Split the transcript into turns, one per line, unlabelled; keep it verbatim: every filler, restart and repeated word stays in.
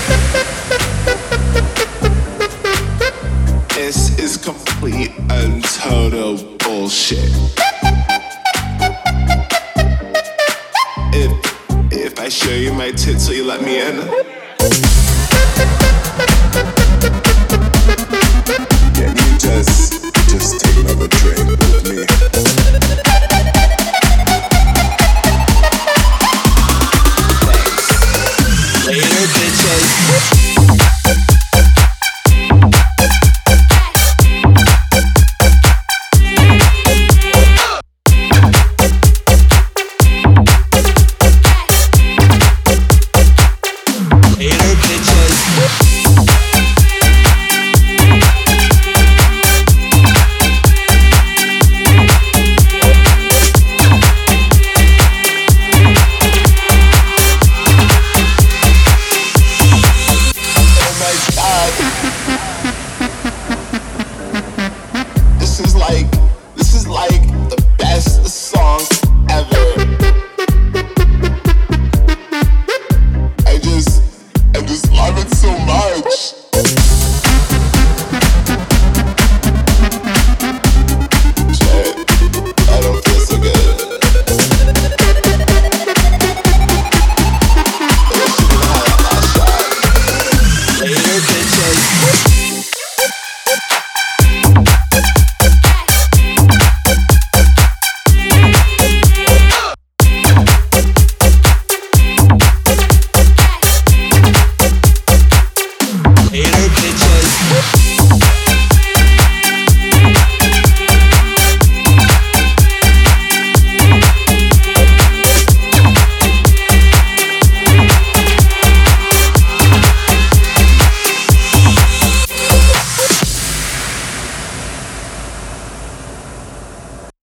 This is complete and total bullshit. If if I show you my tits, will you let me in?
Can you just just take another drink with me?